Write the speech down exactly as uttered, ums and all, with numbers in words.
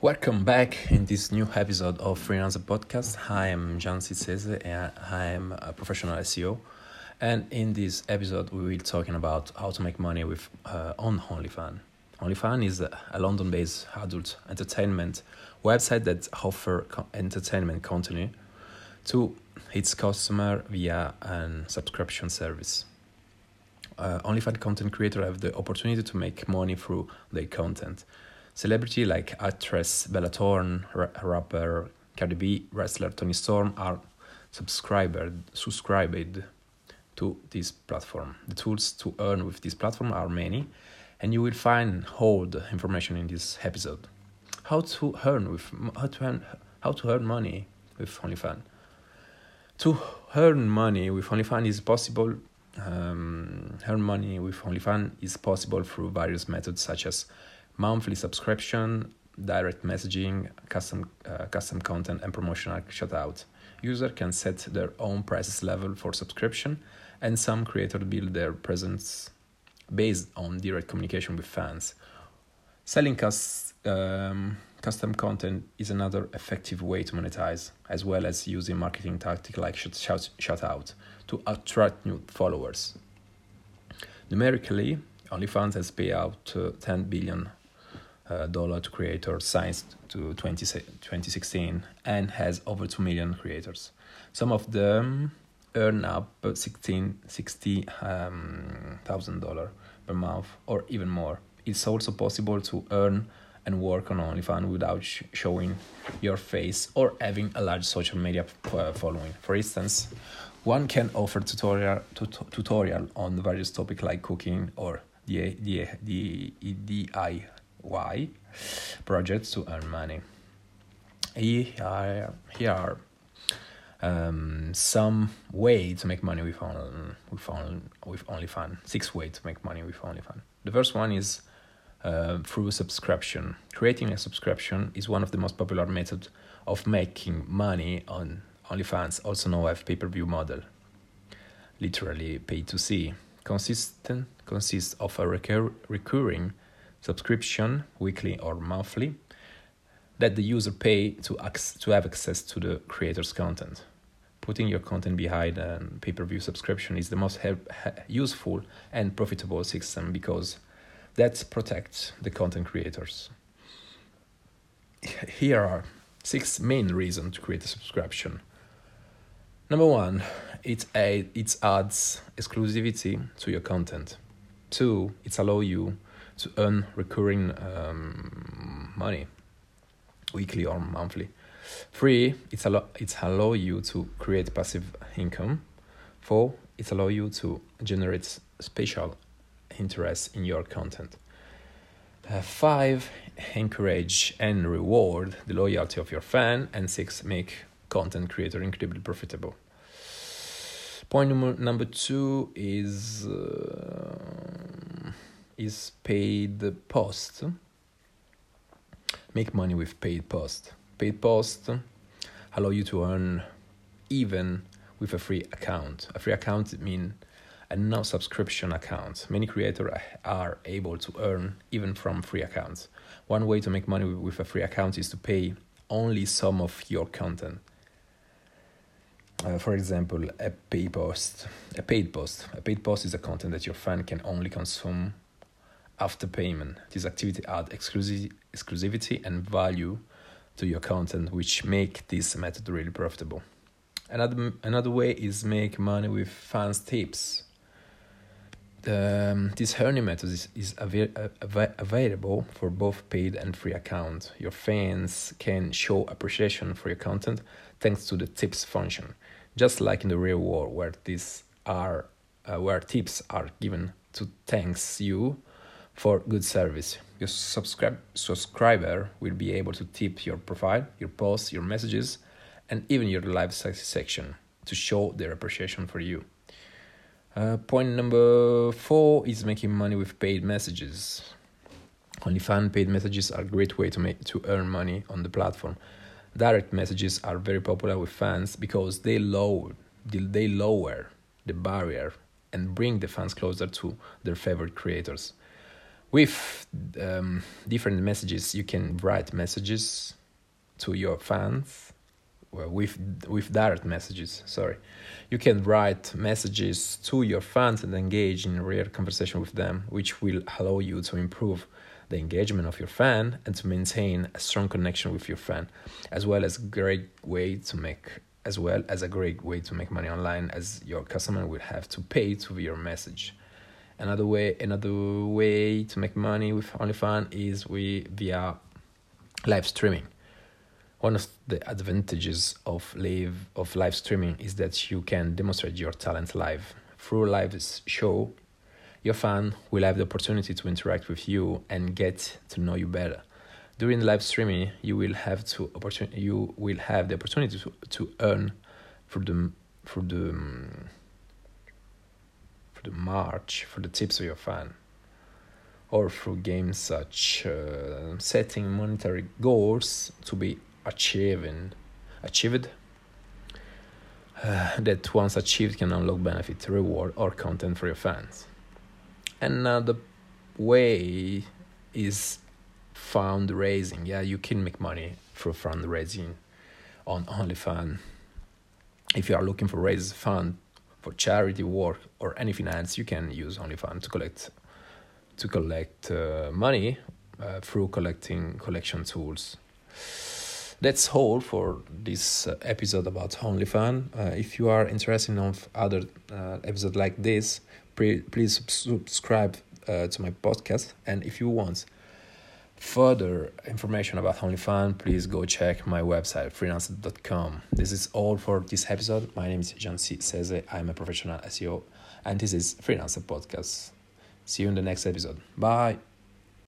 Welcome back in this new episode of Freelancer Podcast. I am Gian Cizese and I am a professional S E O. And in this episode, we will be talking about how to make money with uh, on OnlyFans. OnlyFans is a, a London-based adult entertainment website that offers co- entertainment content to its customer via a subscription service. Uh, OnlyFans content creators have the opportunity to make money through their content. Celebrity like actress Bella Thorne, ra- rapper Cardi B, wrestler Tony Storm are subscribed subscribed to this platform. The tools to earn with this platform are many, and you will find all the information in this episode. How to earn with how to earn how to earn money with OnlyFans. To earn money with OnlyFans is possible. Um, earn money with OnlyFans is possible through various methods such as monthly subscription, direct messaging, custom uh, custom content, and promotional shout-out. User can set their own prices level for subscription, and some creators build their presence based on direct communication with fans. Selling cus- um, custom content is another effective way to monetize, as well as using marketing tactics like shout, shout-out to attract new followers. Numerically, OnlyFans has paid out uh, ten billion Uh, dollar to creators since to twenty sixteen and has over two million creators. Some of them earn up sixteen sixty um, thousand dollar per month or even more. It's also possible to earn and work on OnlyFans without sh- showing your face or having a large social media uh, following. For instance, one can offer tutorial tut- tutorial on various topics like cooking or the the the D I Y projects to earn money. Here are, here are um, some way to make money with on, with on, with OnlyFans. Six ways to make money with OnlyFans. The first one is uh, through subscription. Creating a subscription is one of the most popular methods of making money on OnlyFans, also known as pay-per-view model, literally pay to see. Consistent consists of a recur- recurring subscription, weekly or monthly, that the user pay to ac- to have access to the creator's content. Putting your content behind a pay-per-view subscription is the most help- useful and profitable system because that protects the content creators. Here are six main reasons to create a subscription. Number one, it, a- it adds exclusivity to your content. Two, it allows you to earn recurring um, money, weekly or monthly. Three, it's allow it allow you to create passive income. Four, it allow you to generate special interest in your content. Uh, five, encourage and reward the loyalty of your fan. And six, make content creator incredibly profitable. Point number, number two is uh, is paid post. Make money with paid post. Paid post allow you to earn even with a free account. A free account means a no subscription account. Many creators are able to earn even from free accounts. One way to make money with a free account is to pay only some of your content. Uh, for example, a paid post. A paid post. A paid post is a content that your fan can only consume after payment. This activity adds exclusiv- exclusivity and value to your content, which make this method really profitable. Another another way is make money with fans tips. Um, this earning method is, is av- av- available for both paid and free accounts. Your fans can show appreciation for your content thanks to the tips function, just like in the real world, where these are uh, where tips are given to thanks you for good service. Your subscribe subscriber will be able to tip your profile, your posts, your messages, and even your live section to show their appreciation for you. Uh, point number four is making money with paid messages. OnlyFans paid messages are a great way to make to earn money on the platform. Direct messages are very popular with fans because they lower they lower the barrier and bring the fans closer to their favorite creators. With um, different messages, you can write messages to your fans. Well, with with direct messages, sorry. You can write messages to your fans and engage in real conversation with them, which will allow you to improve the engagement of your fan and to maintain a strong connection with your fan, as well as great way to make as well as a great way to make money online, as your customer will have to pay to your message. Another way another way to make money with OnlyFans is we via live streaming. One of the advantages of live of live streaming is that you can demonstrate your talent live. Through a live show, your fan will have the opportunity to interact with you and get to know you better. During live streaming, you will have to opportunity you will have the opportunity to, to earn for the for the for the march for the tips of your fan, or through games such uh, setting monetary goals to be achieving achieved uh, that once achieved can unlock benefit, reward, or content for your fans. Another way is fundraising. Yeah, you can make money through fundraising on OnlyFans. If you are looking for raise fund for charity work or anything else, you can use OnlyFans to collect to collect uh, money uh, through collecting collection tools. That's all for this uh, episode about OnlyFans. Uh, if you are interested in other uh, episodes like this, pre- please subscribe uh, to my podcast. And if you want further information about OnlyFans, please go check my website, freelancer dot com. This is all for this episode. My name is Jancy Seze. I'm a professional S E O, and this is Freelancer Podcast. See you in the next episode. Bye.